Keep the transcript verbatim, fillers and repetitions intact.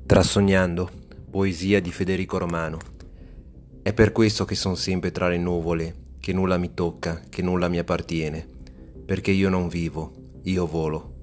Trasognando, poesia di Federico Romano. È per questo che son sempre tra le nuvole, che nulla mi tocca, che nulla mi appartiene, perché io non vivo, io volo.